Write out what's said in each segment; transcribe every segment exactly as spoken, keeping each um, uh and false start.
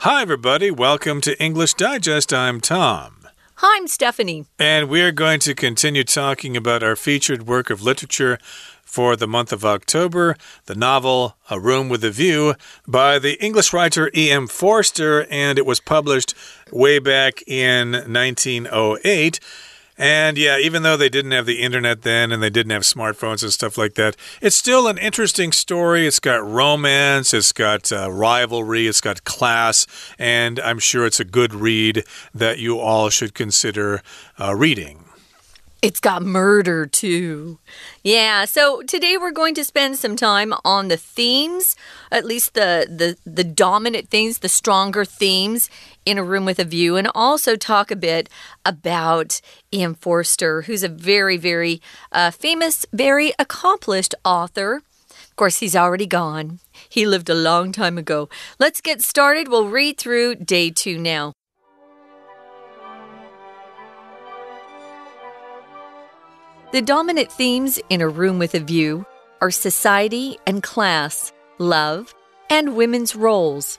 Hi, everybody. Welcome to English Digest. I'm Tom. Hi, I'm Stephanie. And we're going to continue talking about our featured work of literature for the month of October, the novel A Room with a View by the English writer E M Forster, and it was published way back in nineteen oh eight. And yeah, even though they didn't have the internet then and they didn't have smartphones and stuff like that, it's still an interesting story. It's got romance, it's got uh, rivalry, it's got class, and I'm sure it's a good read that you all should consider uh, reading. It's got murder, too. Yeah, so today we're going to spend some time on the themes, at least the, the, the dominant themes, the stronger themes in A Room with a View, and also talk a bit about E M Forster, who's a very, very uh, famous, very accomplished author. Of course, he's already gone. He lived a long time ago. Let's get started. We'll read through day two now. The dominant themes in A Room with a View are society and class, love, and women's roles.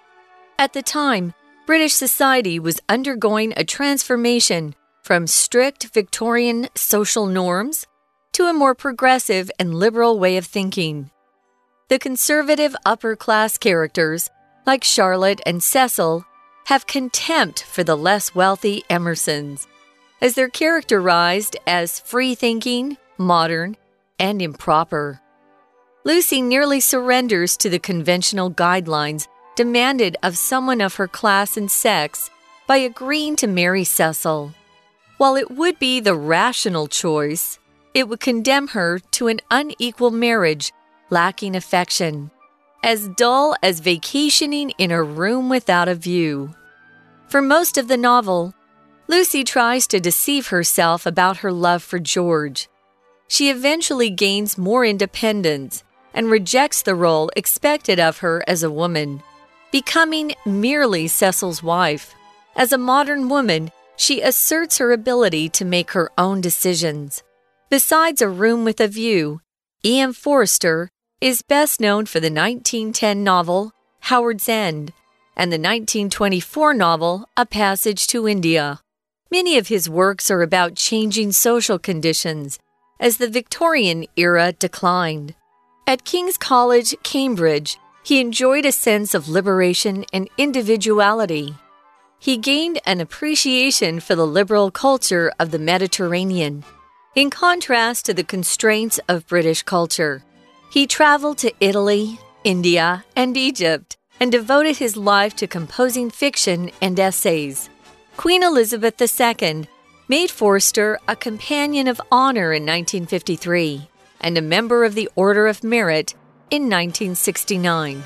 At the time, British society was undergoing a transformation from strict Victorian social norms to a more progressive and liberal way of thinking. The conservative upper-class characters, like Charlotte and Cecil, have contempt for the less wealthy Emersons, as they're characterized as free-thinking, modern, and improper. Lucy nearly surrenders to the conventional guidelines demanded of someone of her class and sex by agreeing to marry Cecil. While it would be the rational choice, it would condemn her to an unequal marriage lacking affection, as dull as vacationing in a room without a view. For most of the novel, Lucy tries to deceive herself about her love for George. She eventually gains more independence and rejects the role expected of her as a woman, becoming merely Cecil's wife. As a modern woman, she asserts her ability to make her own decisions. Besides A Room with a View, E M Forster is best known for the nineteen ten novel Howard's End and the nineteen twenty-four novel A Passage to India. Many of his works are about changing social conditions as the Victorian era declined. At King's College, Cambridge, he enjoyed a sense of liberation and individuality. He gained an appreciation for the liberal culture of the Mediterranean. In contrast to the constraints of British culture, he traveled to Italy, India, and Egypt, and devoted his life to composing fiction and essays. Queen Elizabeth the Second made Forster a Companion of Honor in nineteen fifty-three and a member of the Order of Merit in nineteen sixty-nine.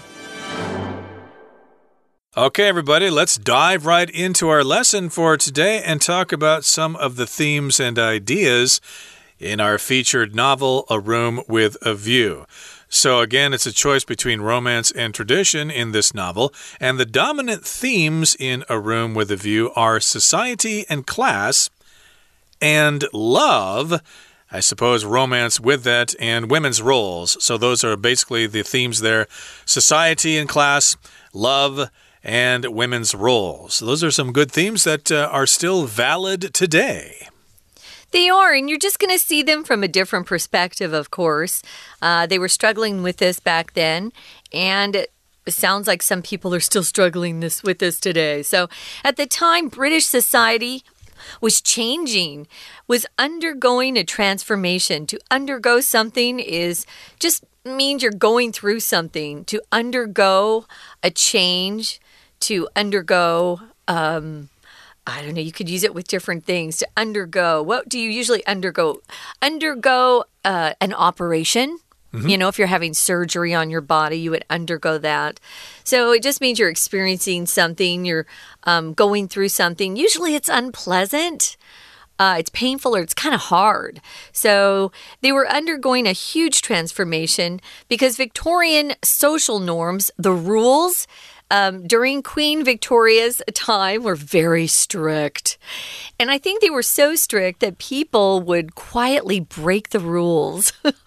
Okay, everybody, let's dive right into our lesson for today and talk about some of the themes and ideas in our featured novel, A Room with a View. So again, it's a choice between romance and tradition in this novel, and the dominant themes in A Room with a View are society and class, and love, I suppose romance with that, and women's roles. So those are basically the themes there: society and class, love, and women's roles. So those are some good themes that uh, are still valid today. They are, and you're just going to see them from a different perspective, of course. Uh, they were struggling with this back then, and it sounds like some people are still struggling this with this today. So at the time, British society was changing, was undergoing a transformation. To undergo something is just means you're going through something. To undergo a change, to undergo... Um, I don't know, you could use it with different things. To undergo, what do you usually undergo? Undergo uh, an operation. Mm-hmm. You know, if you're having surgery on your body, you would undergo that. So it just means you're experiencing something, you're um, going through something. Usually it's unpleasant. Uh, it's painful or it's kind of hard. So they were undergoing a huge transformation because Victorian social norms, the rules, Um, during Queen Victoria's time were very strict. And I think they were so strict that people would quietly break the rules.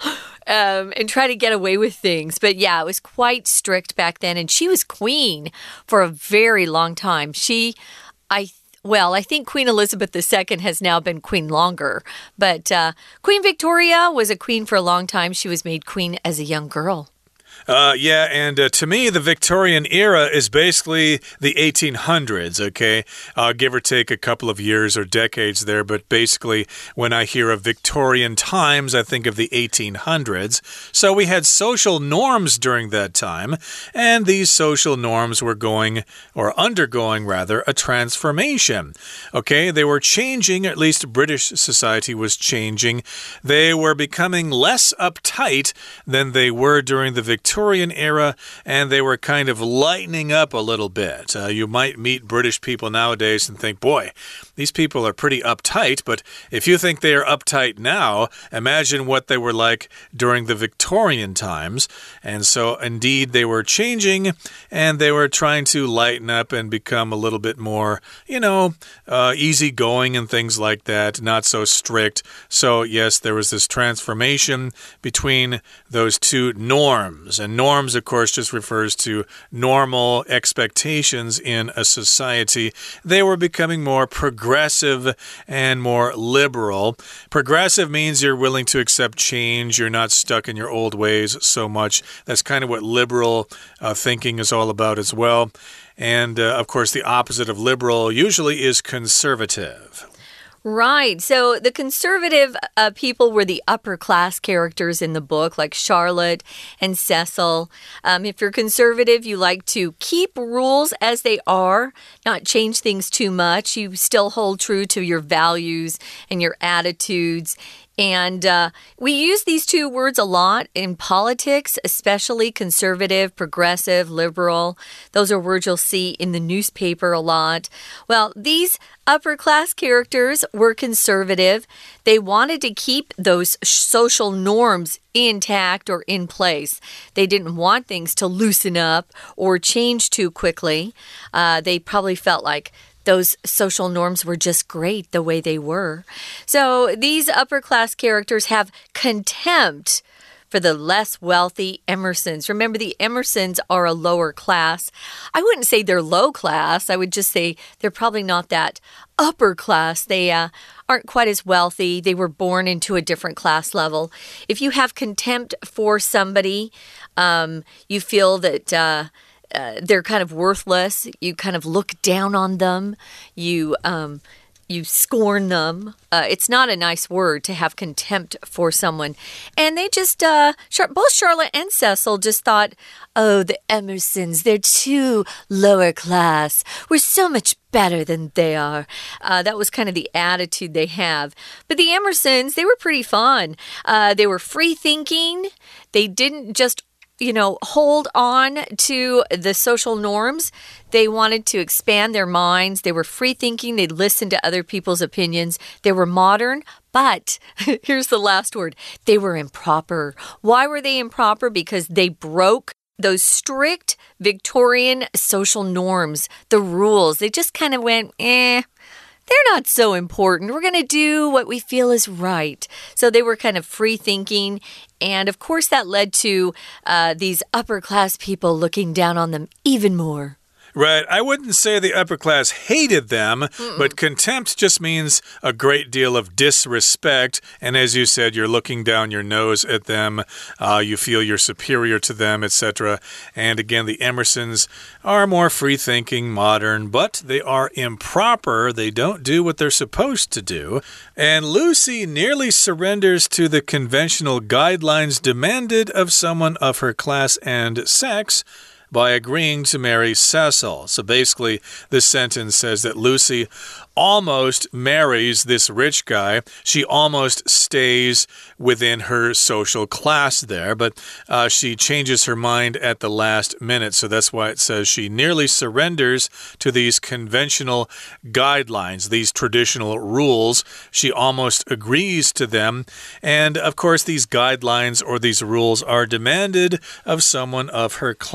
um, and try to get away with things. But yeah, it was quite strict back then. And she was queen for a very long time. She, I Well, I think Queen Elizabeth the Second has now been queen longer. But uh, Queen Victoria was a queen for a long time. She was made queen as a young girl. Uh, yeah, and uh, to me, the Victorian era is basically the eighteen hundreds, okay? Uh, give or take a couple of years or decades there, but basically, when I hear of Victorian times, I think of the eighteen hundreds. So we had social norms during that time, and these social norms were going, or undergoing rather, a transformation. Okay, they were changing, at least British society was changing. They were becoming less uptight than they were during the Victorian Victorian era, and they were kind of lightening up a little bit. Uh, you might meet British people nowadays and think, boy, these people are pretty uptight, but if you think they are uptight now, imagine what they were like during the Victorian times. And so, indeed, they were changing, and they were trying to lighten up and become a little bit more, you know, uh, easygoing and things like that, not so strict. So, yes, there was this transformation between those two norms. And norms, of course, just refers to normal expectations in a society. They were becoming more progressive and more liberal. Progressive means you're willing to accept change. You're not stuck in your old ways so much. That's kind of what liberal uh, thinking is all about as well. And, uh, of course, the opposite of liberal usually is conservative. Right. So the conservative uh, people were the upper class characters in the book, like Charlotte and Cecil. Um, if you're conservative, you like to keep rules as they are, not change things too much. You still hold true to your values and your attitudes. And uh, we use these two words a lot in politics, especially conservative, progressive, liberal. Those are words you'll see in the newspaper a lot. Well, these upper class characters were conservative. They wanted to keep those social norms intact or in place. They didn't want things to loosen up or change too quickly. Uh, they probably felt like those social norms were just great the way they were. So these upper class characters have contempt for the less wealthy Emersons. Remember, the Emersons are a lower class. I wouldn't say they're low class. I would just say they're probably not that upper class. They uh, aren't quite as wealthy. They were born into a different class level. If you have contempt for somebody, um, you feel that Uh, Uh, they're kind of worthless. You kind of look down on them. You um, you scorn them. Uh, it's not a nice word to have contempt for someone. And they just, uh, both Charlotte and Cecil just thought, oh, the Emersons, they're too lower class. We're so much better than they are. Uh, that was kind of the attitude they have. But the Emersons, they were pretty fun. Uh, they were free thinking. They didn't just you know, hold on to the social norms. They wanted to expand their minds. They were free thinking. They listened to other people's opinions. They were modern, but here's the last word. They were improper. Why were they improper? Because they broke those strict Victorian social norms, the rules. They just kind of went, eh. They're not so important. We're going to do what we feel is right. So they were kind of free thinking. And of course, that led to uh, these upper class people looking down on them even more. Right. I wouldn't say the upper class hated them, Mm-mm. but contempt just means a great deal of disrespect. And as you said, you're looking down your nose at them. Uh, you feel you're superior to them, et cetera. And again, the Emersons are more free-thinking, modern, but they are improper. They don't do what they're supposed to do. And Lucy nearly surrenders to the conventional guidelines demanded of someone of her class and sex by agreeing to marry Cecil. So basically, this sentence says that Lucy almost marries this rich guy. She almost stays within her social class there, but uh, she changes her mind at the last minute. So that's why it says she nearly surrenders to these conventional guidelines, these traditional rules. She almost agrees to them. And of course, these guidelines or these rules are demanded of someone of her class.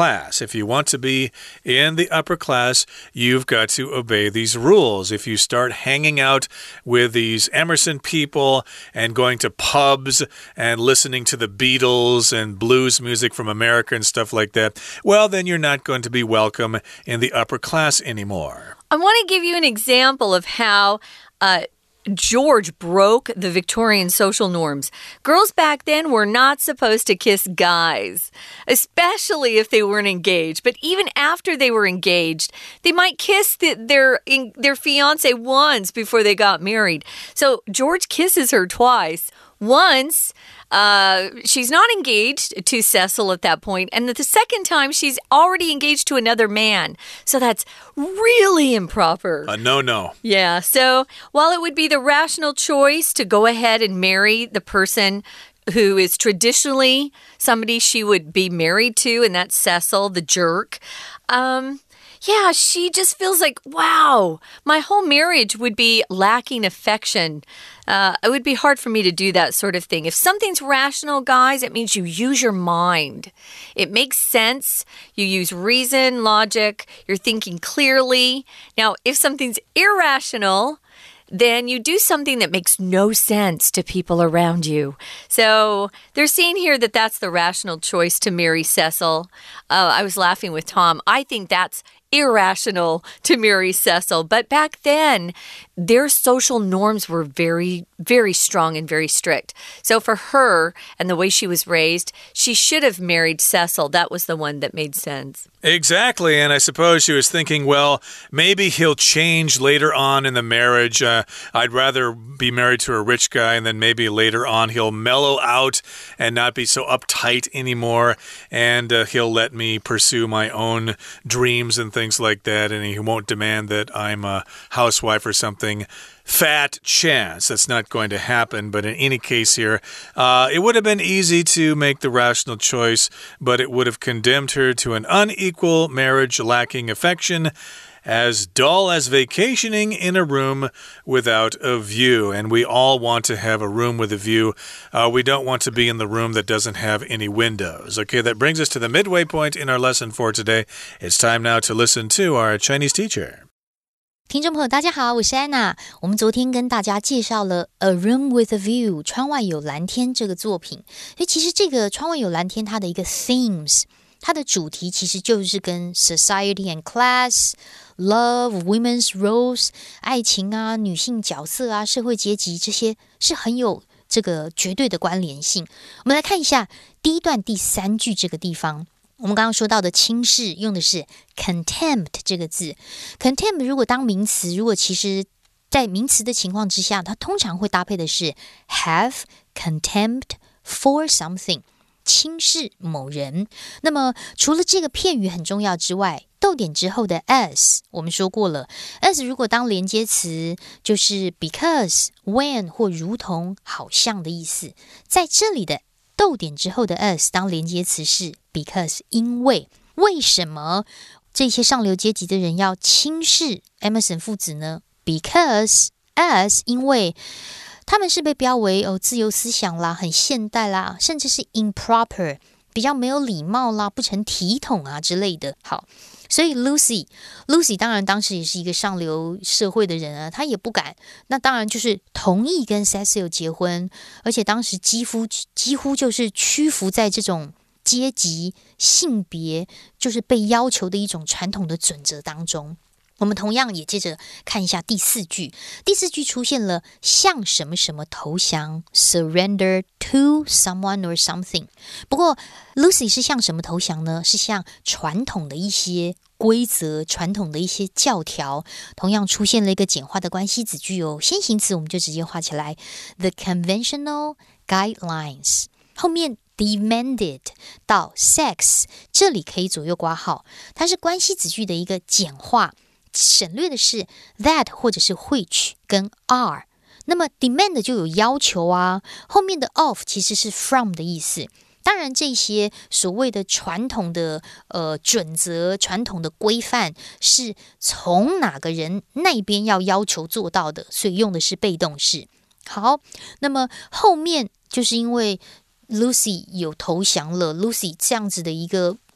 If you want to be in the upper class, you've got to obey these rules. If you start hanging out with these Emerson people and going to pubs and listening to the Beatles and blues music from America and stuff like that, well, then you're not going to be welcome in the upper class anymore. I want to give you an example of how uh, George broke the Victorian social norms. Girls back then were not supposed to kiss guys, especially if they weren't engaged. But even after they were engaged, they might kiss the, their, in, their fiancé once before they got married. So George kisses her twice. Once, uh, she's not engaged to Cecil at that point, and the second time, she's already engaged to another man. So that's really improper. A no-no. Yeah, so while it would be the rational choice to go ahead and marry the person who is traditionally somebody she would be married to, and that's Cecil, the jerk, um... yeah, she just feels like, wow, my whole marriage would be lacking affection. Uh, it would be hard for me to do that sort of thing. If something's rational, guys, it means you use your mind. It makes sense. You use reason, logic. You're thinking clearly. Now, if something's irrational, then you do something that makes no sense to people around you. So they're seeing here that that's the rational choice to marry Cecil. Uh, I was laughing with Tom. I think that's irrational to marry Cecil. But back then, their social norms were very, very strong and very strict. So for her and the way she was raised, she should have married Cecil. That was the one that made sense. Exactly, and I suppose she was thinking, well, maybe he'll change later on in the marriage. Uh, I'd rather be married to a rich guy, and then maybe later on he'll mellow out and not be so uptight anymore, and uh, he'll let me pursue my own dreams and things like that, and he won't demand that I'm a housewife or something. Fat chance that's not going to happen, but in any case here, uh, it would have been easy to make the rational choice, but it would have condemned her to an unequal marriage lacking affection, as dull as vacationing in a room without a view. And we all want to have a room with a view. Uh, we don't want to be in the room that doesn't have any windows. Okay, that brings us to the midway point in our lesson for today. It's time now to listen to our Chinese teacher. 听众朋友大家好，我是安娜。我们昨天跟大家介绍了 A Room with a View 窗外有蓝天这个作品。所以其實這個窗外有藍天它的一個 themes， 它的主題其實就是跟 society and class, love, women's roles, 愛情啊、女性角色啊、社會階級這些是很有這個絕對的關聯性。我們來看一下第一段第三句這個地方。我們剛剛說到的輕視用的是 contempt 這個字。 contempt 如果當名詞，如果其實在名詞的情況之下，它通常會搭配的是 have contempt for something， 輕視某人。那麼除了這個片語很重要之外，逗點之後的 as 我們說過了， as 如果當連接詞，就是 because, when 或如同、好像的意思。在這裡的逗點之後的 as 當連接詞是 because 因為。為什麼這些上流階級的人要輕視 Emerson 父子呢？ Because as 因為他們是被標為哦自由思想啦，很現代啦，甚至是 improper 比較沒有禮貌啦，不成體統啊之類的。好，所以 Lucy Lucy 當然當時也是一個上流社會的人啊，她也不敢，那當然就是同意跟 Cecil 結婚，而且當時幾乎幾乎就是屈服在這種階級、性別，就是被要求的一種傳統的準則當中。我們同樣也接着看一下第四句，第四句出現了向什麼什麼投降 surrender to someone or something。 不過 Lucy 是向什麼投降呢？是向傳統的一些規則，傳統的一些教條。同樣出現了一個簡化的關係子句哦，先行詞我們就直接畫起來 the conventional guidelines， 後面demanded 到 sex 這裡可以左右括號，它是關係子句的一個簡化，省略的是 that 或者是 which 跟 are。 那麼 demand 就有要求啊，後面的 of 其實是 from 的意思。當然這些所謂的傳統的呃準則，傳統的規範是從哪個人那邊要要求做到的，所以用的是被動式。好，那麼後面就是因為Lucy 有投降了， Lucy 這樣子的一個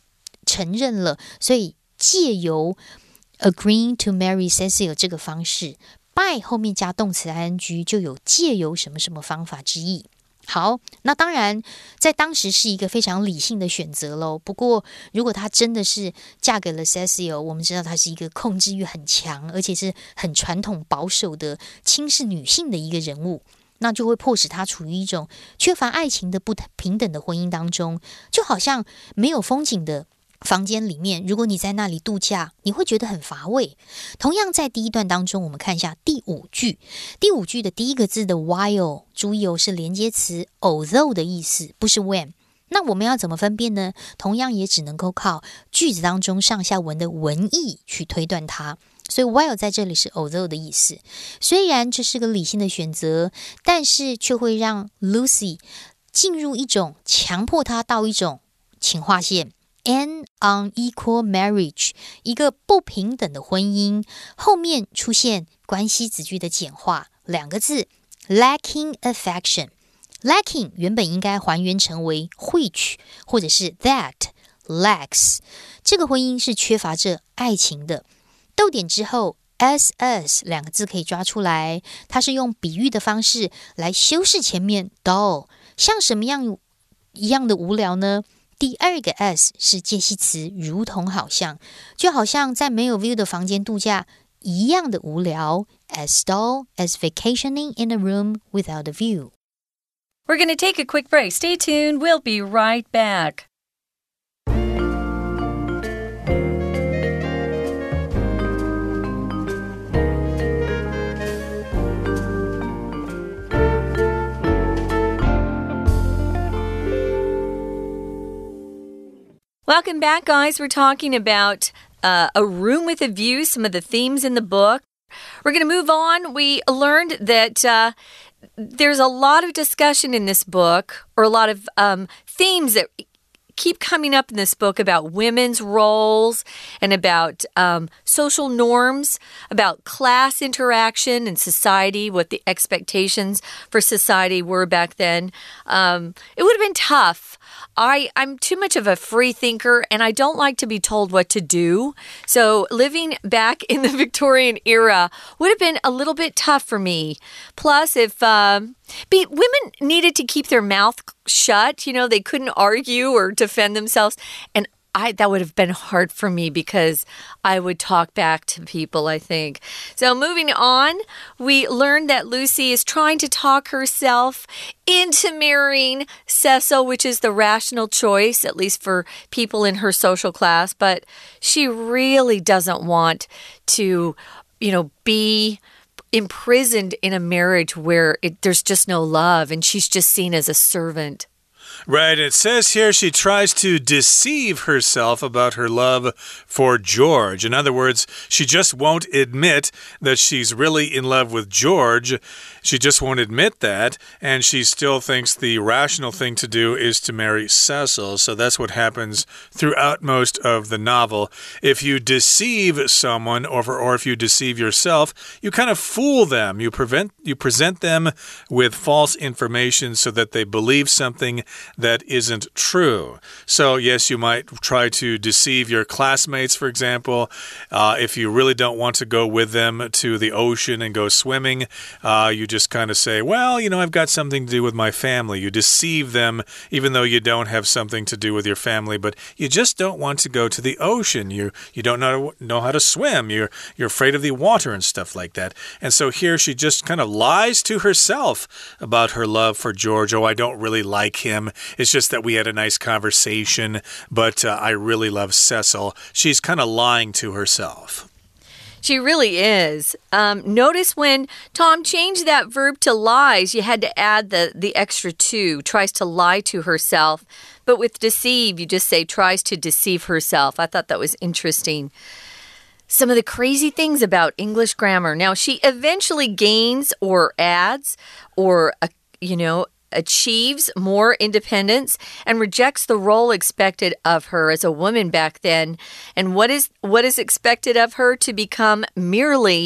承認了，所以借由 agreeing to marry Cecil 這個方式 by 後面加動詞 ing 就有借由什麼什麼方法之意。好，那當然在當時是一個非常理性的選擇咯。不過如果她真的是嫁給了 Cecil， 我們知道她是一個控制欲很強，而且是很傳統保守的輕視女性的一個人物，那就會迫使她處於一種缺乏愛情的不平等的婚姻當中，就好像沒有風景的房間裡面，如果你在那裡度假，你會覺得很乏味。同樣在第一段當中，我們看一下第五句。第五句的第一個字的 while， 注意哦，是連接詞 although 的意思，不是 when。那我們要怎麼分辨呢？同樣也只能夠靠句子當中上下文的文意去推斷它。所以 while 在這裡是 although 的意思。雖然這是個理性的選擇，但是卻會讓 Lucy 進入一種強迫她到一種，請劃線An unequal marriage， 一個不平等的婚姻，後面出現關係子句的簡化，兩個字 lacking affection。 lacking 原本應該還原成為 which 或者是 that lacks， 這個婚姻是缺乏着愛情的。逗點之後 ss 兩個字可以抓出來，它是用比喻的方式來修飾前面 dull， 像什麼樣一樣的無聊呢？第二個 s 是介系詞，如同好像，就好像在沒有 view 的房間度假一樣的無聊 as dull as vacationing in a room without a view. We're going to take a quick break. Stay tuned. We'll be right back. Welcome back, guys. We're talking about uh, A Room with a View, some of the themes in the book. We're going to move on. We learned that uh, there's a lot of discussion in this book, or a lot of um, themes that keep coming up in this book about women's roles and about um, social norms, about class interaction in society, what the expectations for society were back then. Um, it would have been tough. I, I'm too much of a free thinker, and I don't like to be told what to do. So living back in the Victorian era would have been a little bit tough for me. Plus, if um, be, women needed to keep their mouth shut, you know, they couldn't argue or defend themselves. And I, that would have been hard for me because I would talk back to people, I think. So moving on, we learned that Lucy is trying to talk herself into marrying Cecil, which is the rational choice, at least for people in her social class. But she really doesn't want to, you know, be imprisoned in a marriage where it, there's just no love and she's just seen as a servant. Right, it says here she tries to deceive herself about her love for George. In other words, she just won't admit that she's really in love with George. She just won't admit that, and she still thinks the rational thing to do is to marry Cecil. So that's what happens throughout most of the novel. If you deceive someone, or, or if you deceive yourself, you kind of fool them. You, prevent, you present them with false information so that they believe something that isn't true. So yes, you might try to deceive your classmates, for example. Uh, if you really don't want to go with them to the ocean and go swimming, uh, you just kind of say, well, you know, I've got something to do with my family. You deceive them even though you don't have something to do with your family, but you just don't want to go to the ocean. You you don't know, know how to swim. You're, you're afraid of the water and stuff like that. And so here she just kind of lies to herself about her love for George. Oh, I don't really like him. It's just that we had a nice conversation, but uh, I really love Cecil. She's kind of lying to herself. She really is. Um, notice when Tom changed that verb to lies, you had to add the, the extra to, tries to lie to herself. But with deceive, you just say tries to deceive herself. I thought that was interesting. Some of the crazy things about English grammar. Now, she eventually gains or adds or, uh, you know, achieves more independence and rejects the role expected of her as a woman back then. And what is what is expected of her? To become merely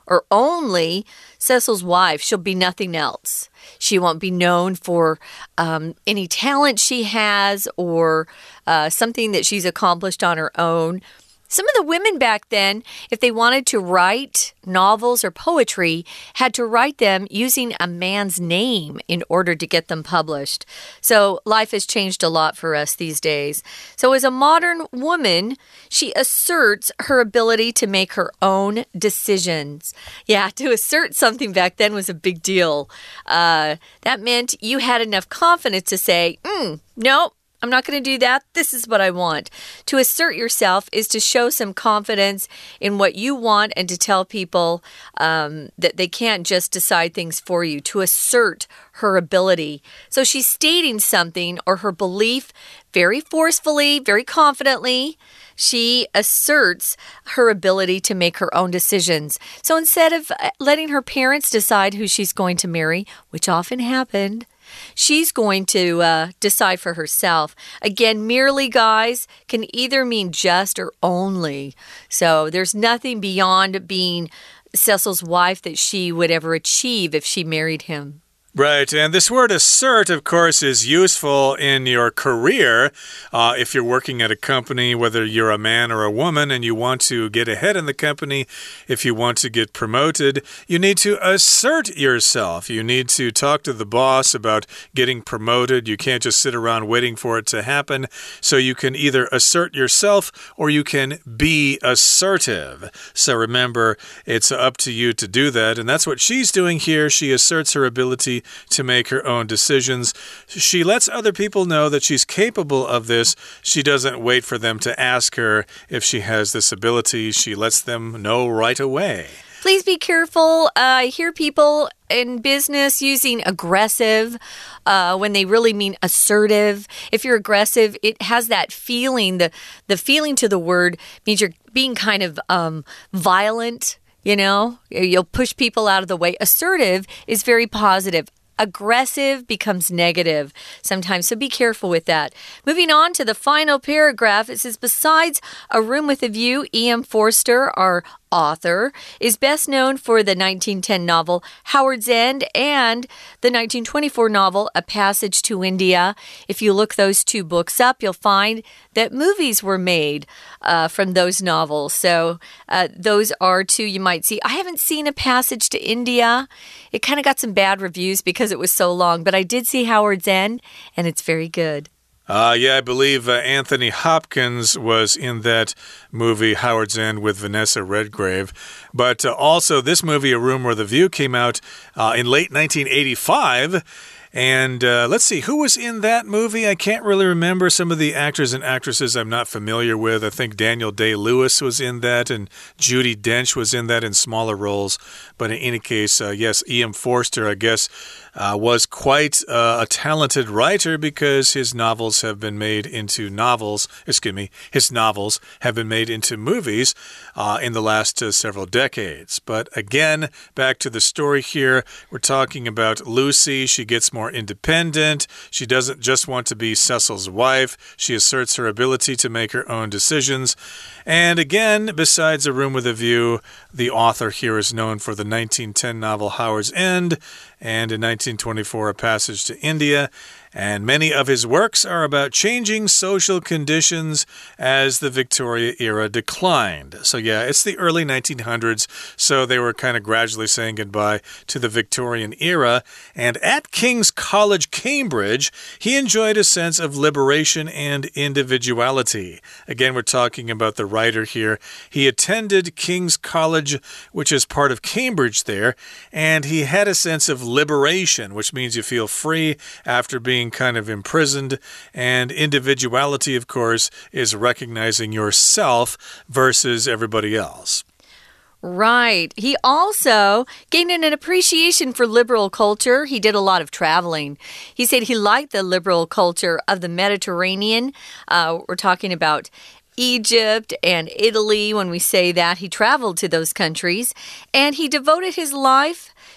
or only Cecil's wife. She'll be nothing else. She won't be known for um, any talent she has or uh, something that she's accomplished on her own. Some of the women back then, if they wanted to write novels or poetry, had to write them using a man's name in order to get them published. So life has changed a lot for us these days. So as a modern woman, she asserts her ability to make her own decisions. Yeah, to assert something back then was a big deal. Uh, that meant you had enough confidence to say, mm, no. I'm not going to do that. This is what I want. To assert yourself is to show some confidence in what you want and to tell people um, that they can't just decide things for you. To assert her ability. So she's stating something or her belief very forcefully, very confidently. She asserts her ability to make her own decisions. So instead of letting her parents decide who she's going to marry, which often happened, she's going to uh, decide for herself. Again, merely, guys, can either mean just or only. So there's nothing beyond being Cecil's wife that she would ever achieve if she married him. Right, and this word assert, of course, is useful in your career. Uh, if you're working at a company, whether you're a man or a woman, and you want to get ahead in the company, if you want to get promoted, you need to assert yourself. You need to talk to the boss about getting promoted. You can't just sit around waiting for it to happen. So you can either assert yourself or you can be assertive. So remember, it's up to you to do that, and that's what she's doing here. She asserts her ability to make her own decisions. She lets other people know that she's capable of this. She doesn't wait for them to ask her if she has this ability. She lets them know right away. Please be careful. Uh, I hear people in business using aggressive uh, when they really mean assertive. If you're aggressive, it has that feeling. The, the feeling to the word means you're being kind of um, violent. You know, you'll push people out of the way. Assertive is very positive. Aggressive becomes negative sometimes, so be careful with that. Moving on to the final paragraph, it says, besides A Room with a View, E M Forster, our author, is best known for the nineteen ten novel Howard's End and the nineteen twenty-four novel A Passage to India. If you look those two books up, you'll find that movies were made uh, from those novels. So uh, those are two you might see. I haven't seen A Passage to India. It kind of got some bad reviews because it was so long, but I did see Howard's End, and it's very good. Uh, yeah, I believe uh, Anthony Hopkins was in that movie, Howard's End, with Vanessa Redgrave. But uh, also, this movie, A Room with a View, came out uh, in late nineteen eighty-five. And uh, let's see, who was in that movie? I can't really remember. Some of the actors and actresses I'm not familiar with. I think Daniel Day-Lewis was in that, and Judi Dench was in that in smaller roles. But in any case, uh, yes, E M Forster, I guess, uh, was quite uh, a talented writer because his novels have been made into novels. Excuse me, his novels have been made into movies uh, in the last uh, several decades. But again, back to the story here, we're talking about Lucy. She gets more independent. She doesn't just want to be Cecil's wife. She asserts her ability to make her own decisions. And again, besides A Room with a View, the author here is known for the nineteen ten novel Howard's End and in nineteen twenty-four, A Passage to India. And many of his works are about changing social conditions as the Victoria era declined. So yeah, it's the early nineteen hundreds, so they were kind of gradually saying goodbye to the Victorian era. And at King's College, Cambridge, he enjoyed a sense of liberation and individuality. Again, we're talking about the writer here. He attended King's College, which is part of Cambridge there, and he had a sense of liberation, which means you feel free after being kind of imprisoned. And individuality, of course, is recognizing yourself versus everybody else. Right. He also gained an appreciation for liberal culture. He did a lot of traveling. He said he liked the liberal culture of the Mediterranean. Uh, we're talking about Egypt and Italy when we say that. He traveled to those countries, and he devoted his life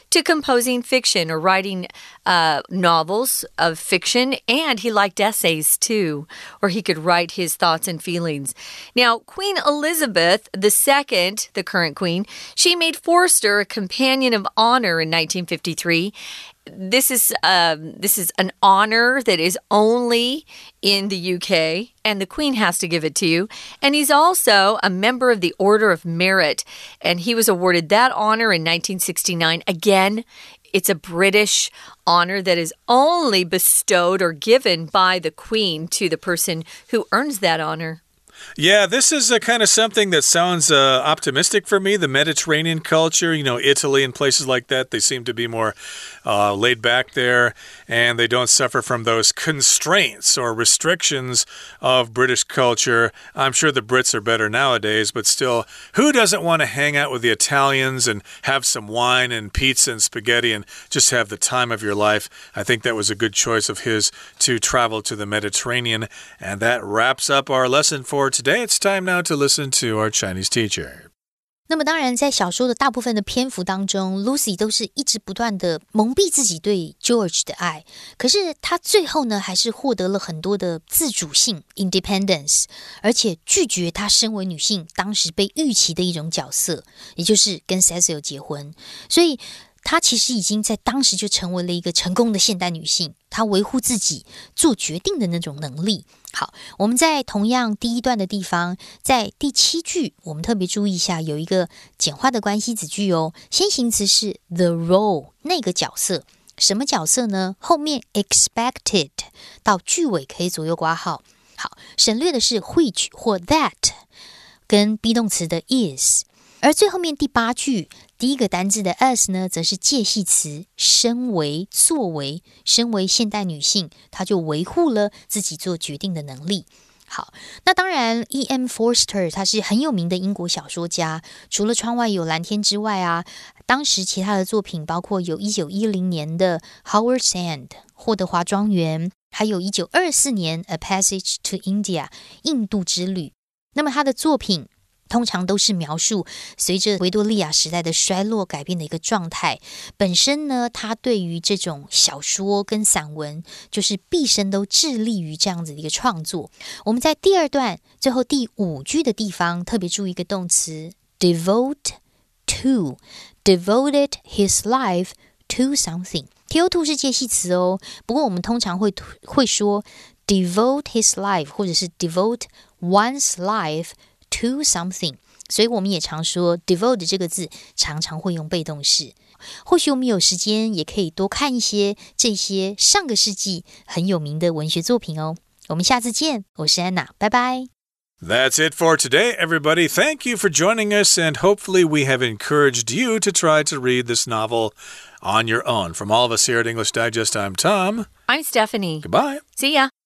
to composing fiction or writing uh, novels of fiction, and he liked essays too, where he could write his thoughts and feelings. Now, Queen Elizabeth the Second, the current queen, she made Forster a Companion of Honor in nineteen fifty-three. This is um, this is an honor that is only in the U K, and the Queen has to give it to you. And he's also a member of the Order of Merit, and he was awarded that honor in nineteen sixty-nine. Again, it's a British honor that is only bestowed or given by the Queen to the person who earns that honor. Yeah, this is a kind of something that sounds uh, optimistic for me. The Mediterranean culture, you know, Italy and places like that, they seem to be more uh, laid back there, and they don't suffer from those constraints or restrictions of British culture. I'm sure the Brits are better nowadays, but still, who doesn't want to hang out with the Italians and have some wine and pizza and spaghetti and just have the time of your life? I think that was a good choice of his to travel to the Mediterranean. And that wraps up our lesson for today. It's time now to listen to our Chinese teacher. 那麼当然在小说的大部分的篇幅当中 Lucy 都是一直不断的蒙蔽自己对 George 的爱，可是她最後呢還是獲得了很多的自主性 independence， 而且拒絕她身為女性當時被預期的一種角色，也就是跟 Cecil 結婚。所以她其實已經在當時就成為了一個成功的現代女性，她維護自己做決定的那種能力。好，我們在同樣第一段的地方，在第七句我們特別注意一下，有一個簡化的關係子句哦。先行詞是 the role， 那個角色，什麼角色呢？後面 expected 到句尾可以左右括號。好，省略的是 which 或 that 跟 be 動詞的 is。而最後面第八句第一個單字的 as 呢，則是介系詞，身為作為，身為現代女性，她就維護了自己做決定的能力。好，那當然 E M Forster 他是很有名的英國小說家，除了窗外有藍天之外啊，當時其他的作品包括有一九一零年的 Howard's End 霍德華莊園，還有一九二四年 A Passage to India 印度之旅。那麼他的作品通常都是描述隨着維多利亞時代的衰落改變的一個狀態。本身呢，他對於這種小說跟散文，就是畢生都致力於這樣子的一個創作。我們在第二段最後第五句的地方特別注意一個動詞 devote to， devoted his life to something。T O to 是介系詞哦，不過我們通常會會說 devote his life 或者是 devote one's life to something， 所以我們也常說 devote 這個字常常會用被動式。或許我們有時間也可以多看一些這些上個世紀很有名的文學作品哦。我們下次見，我是安娜，拜拜。 That's it for today, everybody. Thank you for joining us, and hopefully we have encouraged you to try to read this novel on your own. From all of us here at English Digest, I'm Tom. I'm Stephanie. Goodbye. See ya.